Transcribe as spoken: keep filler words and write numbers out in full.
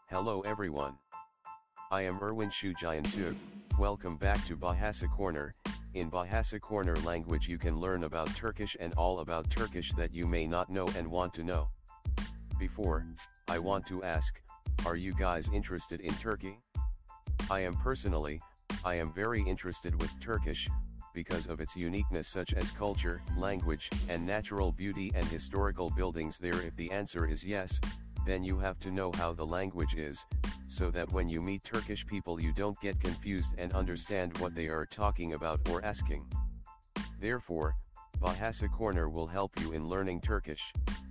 Hello everyone. I am Erwin Shujayantu. Welcome back to Bahasa Corner. In Bahasa Corner language you can learn about Turkish and all about Turkish that you may not know and want to know. Before, I want to ask, are you guys interested in Turkey? I am personally, I am very interested with Turkish, because of its uniqueness such as culture, language, and natural beauty and historical buildings there. If the answer is yes, then you have to know how the language is, so that when you meet Turkish people you don't get confused and understand what they are talking about or asking. Therefore, Bahasa Corner will help you in learning Turkish.